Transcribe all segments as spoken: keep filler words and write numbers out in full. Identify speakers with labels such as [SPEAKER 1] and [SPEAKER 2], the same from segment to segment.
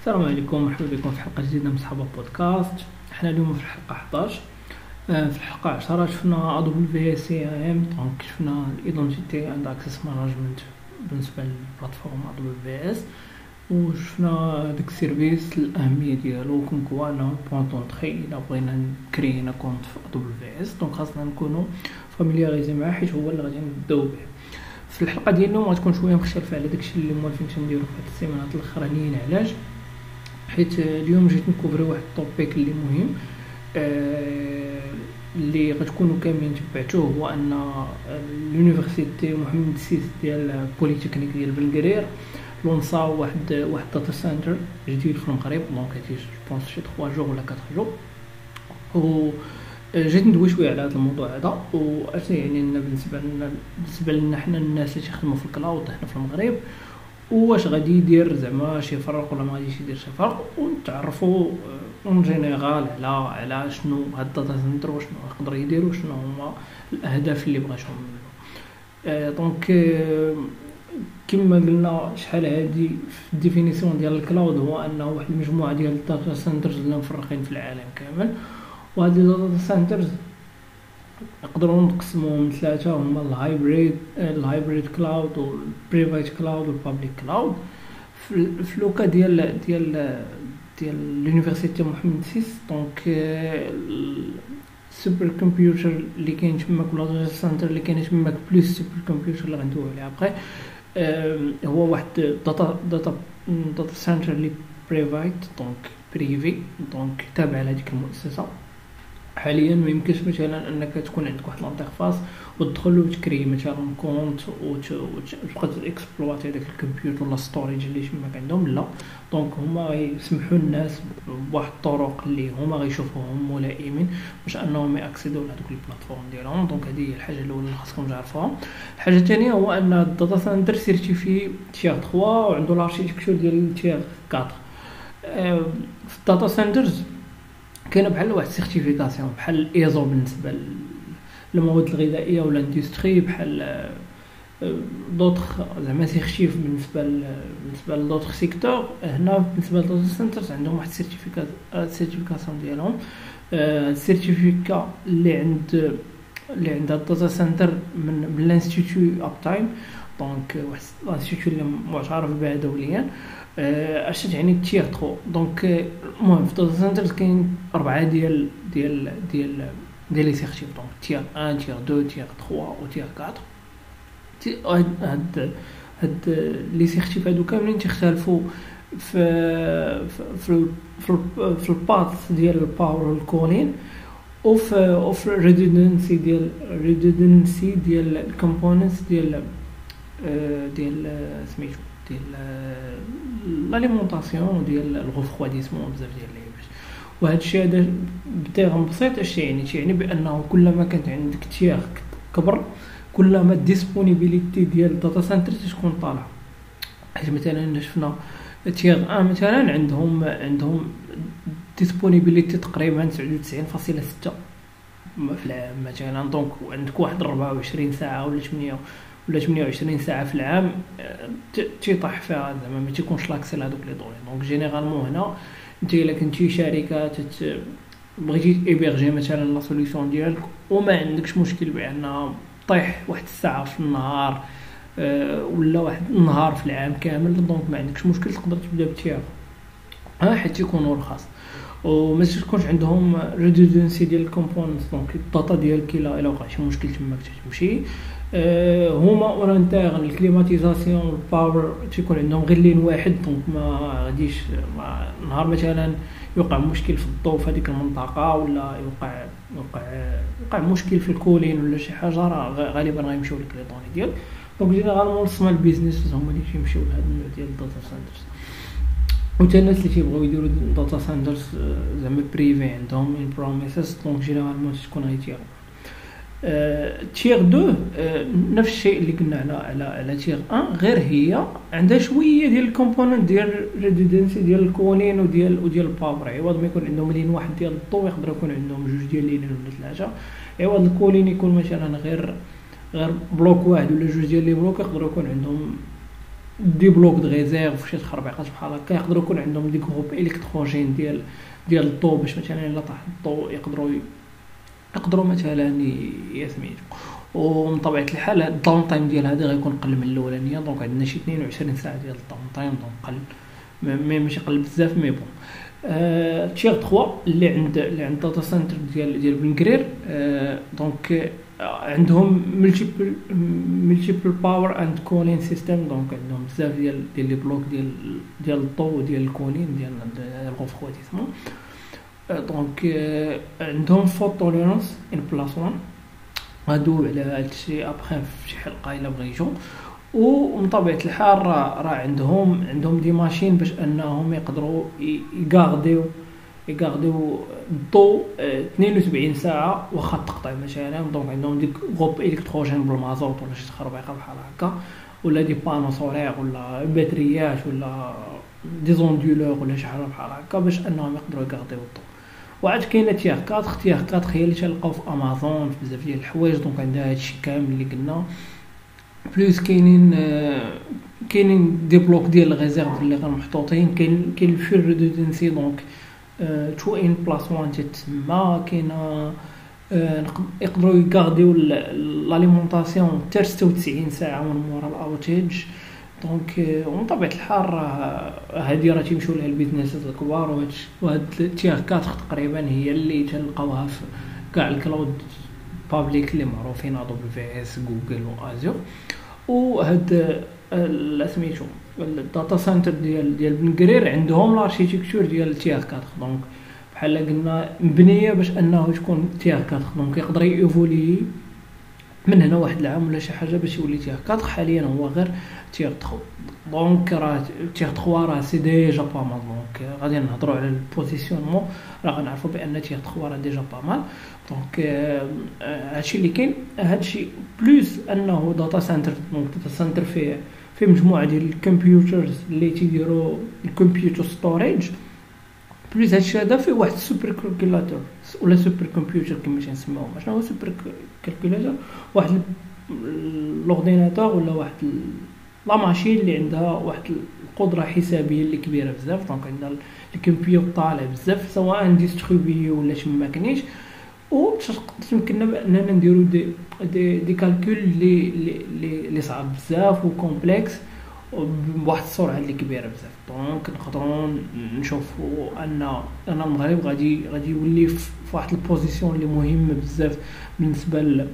[SPEAKER 1] السلام عليكم، مرحبا بكم في حلقه جديده من صحابه بودكاست. احنا اليوم في الحلقه حداش. آه، في الحلقه عشرة شفنا دبليو في سي ام، دونك شفنا الايدنتيتي اند اكسس مانجمنت بالنسبه للبلاتفورم دبليو في اس، وشفنا داك السيرفيس الاهميه ديالو كون كوا انه بوان دونطري الا بغينا نكرينا كونت في دبليو في اس، دونك خاصنا نكونوا فاميلياريزي معاه حيت هو اللي غادي نبداو به. في الحلقه ديال اليوم غتكون شويه مختلفه على داكشي اللي موالفين تنديرو في هاد السيمانات الاخرانيين. علاش؟ حيت اليوم جيت نكوفري واحد التوبيك اللي مهم، آه اللي غتكونوا كاملين تبعتوه، هو ان اليونيفرسيتي محمد السيس ديال بوليتكنيك ديال بلقرير لونصاو واحد واحد داتا سنتر جديد في المغرب، دونك هادي جوبونس شي ثلاثة جور ولا أربعة جور. و جيت ندوي شويه على هذا الموضوع هذا، واش يعني لنا بالنسبه لنا بالنسبه لنا حنا الناس اللي تيخدموا في الكلاود هنا في المغرب، واش غادي يدير زعما شي فرق ولا ما غاديش يدير شي فرق، ونتعرفوا اون جينيرال على على شنو هاد الداتا سنتر وشنو يقدر يدير وشنو هما الاهداف اللي بغاتهم منه. آه دونك آه كما قلنا شحال هادي في الديفينيسيون ديال الكلاود، هو انه واحد المجموعه ديال الداتا سنترز اللي مفرقين في العالم كامل، وهاد الداتا سنترز نقدروا نقسموهم لثلاثه، هما الهايبريد الهايبريد كلاود والبريفات كلاود والبابليك كلاود. في لوكا ديال ديال ديال اليونيفرسيتي محمد السيس، دونك السوبر كمبيوتر اللي كاين تماك ولا داتا سنتر اللي كاين تماك بلوس سوبر كمبيوتر اللي غندويو عليه ابخي، هو واحد داتا داتا داتا سنتر اللي بريفات، دونك بريفي، دونك تابع لهذيك المؤسسه. حاليا ما يمكنش مثلا انك تكون عندك واحد لانترفاس وتدخل وتكري مثلا كونت وتبقى تاكسبلواتي داك الكمبيوتر ولا ستوريج اللي تماك عندهم، لا. دونك هما غيسمحوا الناس بواحد الطرق اللي هما غيشوفوهم ملائمين باش انهم ياكسيدوا لهذوك البلاتفورم ديالهم. دونك هذه هي الحاجه الاولى اللي خاصكم تعرفوها. الحاجه الثانيه هو ان الداتا سنتر سيرتيفي تير ثلاثة وعنده لاركتيكتور ديال تير أربعة. في الداتا سنترز كاين بحال واحد سيرتيفيكاسيون بحال الايزو بالنسبه للمواد الغذائيه ولا الاندستري، بحال دوطخ زعما سيرتيف بالنسبه بالنسبه لدوطخ سيكتور. هنا بالنسبه للداتا سنترز عندهم واحد السيرتيفيكات السيرتيفيكاسيون ديالهم. السيرتيفيكا اللي عند اللي عند الداتا سنتر من من الانستيتيو اب تايم، دونك واحد الانستيتيو اللي معترف به دوليا. اش تعني تير ثلاثة؟ دونك المهم في الداتا سنتر كاين اربعه ديال ديال ديال ديال لي سيرتيف، دونك تير واحد تير اثنين تير ثلاثة و تير أربعة. هاد هاد لي سيرتيف هادو كاملين تختلفوا في في في في الباث ديال الباور والكولين، وفي اوف ريدندنسي ديال ريدندنسي ديال الكومبوننتس ديال ديال سميتو ديال لاليمونطاسيون ديال الغفواديسمون بزاف ديال اللعيبات. وهذا الشيء هذا بتيغ بسيط اش يعني يعني بانه كلما كانت عندك تيغ كبر كلما الديسبونيبيليتي ديال الداتا سنتر تكون طالعه. حيت مثلا شفنا تيغ ا مثلا عندهم عندهم ديسبونيبيليتي تقريبا تسعة وتسعين فاصلة ستة في العام مثلا، دونك عندك واحد أربعة وعشرين ساعه ولا ثمانية ولا ثمانية وعشرين ساعه في العام تيطيح فيها، زعما ما تيكونش لاكسي لهذوك لي دوني. دونك جينيرالمون هنا انت الا كنتي شركه تت... بغيتي ايبيرجي مثلا لا سوليوشن ديالك وما عندكش مشكل بان طيح واحد الساعه في النهار أه ولا واحد النهار في العام كامل، دونك ما عندكش مشكل تقدر تبدا بتيار ها حيت يكونوا رخاص وما تكونش عندهم ريدندنسي ديال الكومبوننتس. دونك الداتا ديالك الا الا وقع شي مشكل تماك تمشي. أه هما اورانتيغ الكليماتيزاسيون والباور تيكون عندهم غير لين واحد، دونك ما غاديش نهار مثلا يوقع مشكل في الضوء في هذيك المنطقه ولا يوقع يوقع يوقع مشكل في الكولين ولا شي حاجه، راه غالبا غيمشيو لك لي دوني ديالك. دونك جينيرالمون سمال بيزنس هما اللي تيمشيو لهاد النوع ديال الداتا سنترز. وتا الناس اللي تيبغيو يديروا داتا سنترز زعما بريفي عندهم ان بروميسز، دونك جينيرالمون تكون غير تيغ تيغ اثنين. نفس الشيء اللي قلنا على على على تيغ واحد، غير هي عندها شويه ديال الكومبوننت ديال ريدندنسي ديال الكولين وديال وديال الباور. عوض ما يكون عندهم لين واحد ديال الضوء يقدر يكون عندهم جوج ديال لين ولا ثلاثه. عوض الكولين يكون مثلا غير غير بلوك واحد ولا جوج ديال لي بلوك، يقدروا يكون عندهم دي بلوك د ريزيرف وشي تخربيقات بحال هكا، يقدروا يكون عندهم دي جروب الكتروجين ديال ديال الضو، باش مثلا الا طاح الضو يقدروا يقدروا مثلا يسميتو. ومن طبيعه الحال الداون تايم ديال هذا غيكون قل من الاولانيه، دونك عندنا شي اثنين وعشرين ساعه ديال الداون تايم، دونك قل مي ماشي قل بزاف مي بون. آه تيغ ثلاثة اللي عند اللي عند داتا سنتر ديال ديال بنكرير، آه دونك عندهم ملتيبل ملتيبل باور اند كولين سيستم، دونك عندهم بزاف ديال ديال لي بلوك ديال ديال الضو وديال الكولين ديال الغوفخواتيسمون. دونك آه عندهم فوت توليرانس ان بلاس واحد، غادو على هادشي ابخي في شي حلقه الا بغيتو. ومن طبيعه الحال راه راه عندهم عندهم دي ماشين باش انهم يقدروا يغارديو يغارديو الضو اثنين وسبعين ساعه واخا تقطع مثلا. دونك عندهم ديك غوب الكتروجين بالمازوت ولا شي تخربيقه بحال هكا، ولا دي بانو سولير ولا باتريات ولا دي زوندولور ولا شي حاجه بحال هكا باش انهم يقدروا يغارديو الضو. وعاد كاينه تيغ أربعة تيغ أربعة هي اللي تلقاو في امازون في بزاف ديال الحوايج، دونك عندها هادشي كامل اللي قلنا. بلوس كاينين كاينين دي بلوك ديال الريزيرف اللي غنمحطوطين، كاين كاين الفول ريدوندنسي، دونك تو ان بلاس واحد تتسمى. كاينه يقدروا يغارديو لاليمونطاسيون حتى ستة وتسعين ساعه من مورا الاوتيج. دونك ومن طبيعه الحال راه هادي راه تيمشيو لها البيزنسات الكبار، وهاد تيغ أربعة تقريبا هي اللي تلقاوها في كاع الكلاود بابليك اللي معروفين، ادوبي في اس، جوجل وازور. وهاد سميتو الداتا سنتر ديال ديال بنكرير عندهم الاركيتكتور ديال تيغ أربعة، دونك بحال قلنا مبنيه باش انه تكون تيغ أربعة، دونك يقدر ييفولي من هنا واحد العام ولا شي حاجه باش يولي تيغ أربعة. حاليا هو غير تيغ ثلاثة، دونك راه تيغ ثلاثة راه سي ديجا با مال. دونك غادي نهضروا على البوزيسيونمون، راه غنعرفوا بان تيغ ثلاثة راه ديجا با مال. دونك هادشي اللي كاين. هادشي بلوس انه داتا سنتر، دونك داتا سنتر فيه فيه مجموعه ديال الكمبيوترز اللي تيديروا الكمبيوتر ستوريج. بلوس هادشي هذا فيه واحد السوبر كالكولاتور ولا سوبر كمبيوتر كما تنسميوهم. شنو هو سوبر كالكولاتور؟ واحد لورديناتور ولا واحد لا ماشين اللي عندها واحد القدره حسابيه اللي كبيره بزاف. دونك عندنا الكمبيوتر طالع بزاف سواء ديستريبيي ولا شي ما كاينش، و تمكننا باننا نديرو دي دي, دي كالكول اللي اللي اللي صعاب بزاف وكومبلكس بواحد السرعه اللي كبيره بزاف. دونك نقدروا نشوفوا ان ان المغرب غادي غادي يولي في واحد البوزيسيون اللي مهمه بزاف بالنسبه ل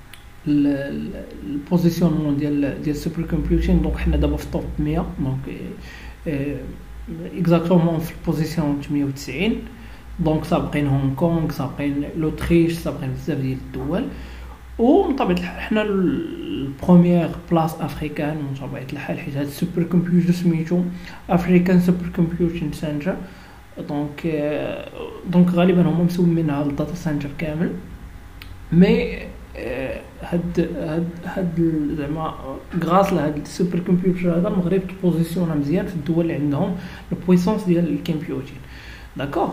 [SPEAKER 1] البوزيسيون ديال ديال السوبر كومبيوتين. دونك حنا دابا في التوب مية، دونك اكزاكتومون في البوزيسيون ثمانية وتسعين. دونك سابقين هونغ كونغ، سابقين لوتريش، سابقين بزاف ديال الدول. ومن طبيعه الحال حنا البروميير بلاص افريكان من طبيعه الحال، حيت هاد السوبر كمبيوتر سميتو افريكان سوبر كومبيوتين سنتر. دونك دونك غالبا هما مسمينها الداتا سنتر كامل. مي هاد هاد هاد زعما غراس لهاد السوبر كمبيوتر هذا المغرب بوزيسيونا مزيان في الدول اللي عندهم البويسونس ديال الكمبيوتين. داكوغ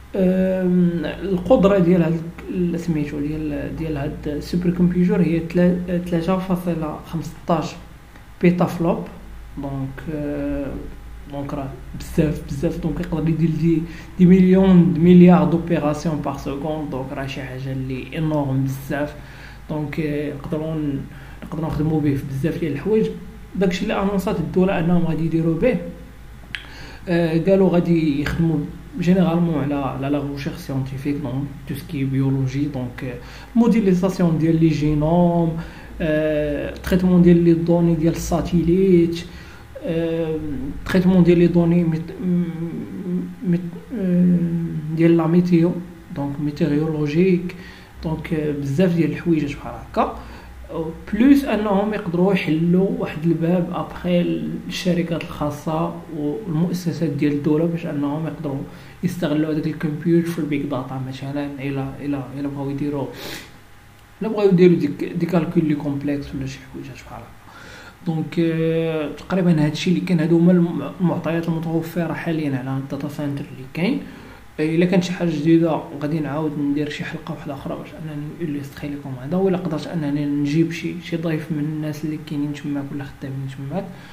[SPEAKER 1] القدره ديال هاد سميتو ديال ديال هاد السوبر كمبيوتر هي ثلاثة فاصلة خمسطاش بيتا فلوب. دونك دونك راه بزاف بزاف. دونك يقدر يدير دي دي مليون دي مليار دوبيراسيون بار سكوند. دونك راه شي حاجه اللي انورم بزاف. دونك نقدروا نقدروا نخدموا به في بزاف ديال الحوايج. داكشي اللي انونسات الدوله انهم غادي يديروا به، آه قالوا غادي يخدموا جينيرالمون على على لا ريشيرش ساينتيفيك، دونك تو سكي بيولوجي، دونك موديليزاسيون ديال لي جينوم، آه تريتمون ديال لي دوني ديال الساتيليت، آه تريتمون ديال لي دوني ميت ميت ديال لا ميتيو، دونك ميتيريولوجيك. دونك بزاف ديال الحوايج بحال هكا. بلوس انهم يقدروا يحلوا واحد الباب ابخي الشركات الخاصه والمؤسسات ديال الدوله باش انهم يقدروا يستغلوا هذاك الكمبيوتر في البيك داتا مثلا. الى الى الى بغاو يديروا لا بغاو يديروا ديك دي كالكول لي كومبلكس ولا شي حوايج بحال هكا. دونك تقريبا هادشي اللي كاين. هادو هما المعطيات المتوفره حاليا على الداتا سنتر اللي كاين. الا كانت شي حاجه جديده غادي نعاود ندير شي حلقه واحده اخرى باش انني نليستري لكم هذا، ولا قدرت انني نجيب شي شي ضيف من الناس اللي كاينين تماك ولا خدامين تماك.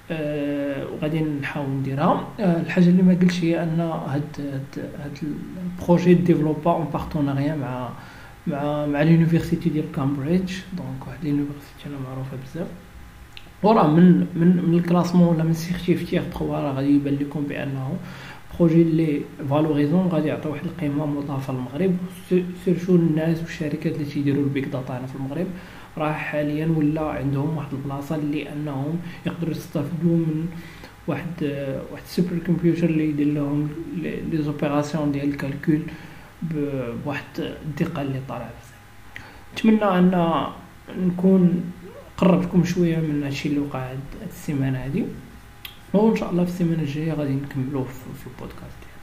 [SPEAKER 1] أه وغادي نحاول نديرها. أه الحاجه اللي ما قلتش هي ان هاد هاد هاد البروجي ديفلوبا اون بارتناريا مع مع مع لونيفرسيتي ديال كامبريدج. دونك واحد لونيفرسيتي انا معروفه بزاف، وراه من من من الكلاسمون ولا من سيرتيف تيغ ثلاثة راه غادي يبان لكم بانه بروجي اللي فالوريزون غادي يعطي واحد القيمه مضافه للمغرب، سيرتو الناس والشركات اللي تيديروا البيك داتا هنا في المغرب راه حاليا ولا عندهم واحد البلاصه اللي انهم يقدروا يستافدوا من واحد واحد السوبر كمبيوتر اللي يدير لهم لي زوبيراسيون ديال الكالكول بواحد الدقه اللي طالعه بزاف. نتمنى ان نكون قربتكم شويه من هادشي اللي وقع هاد السيمانه هادي، وان شاء الله في السيمانه الجايه غادي نكملوه في البودكاست.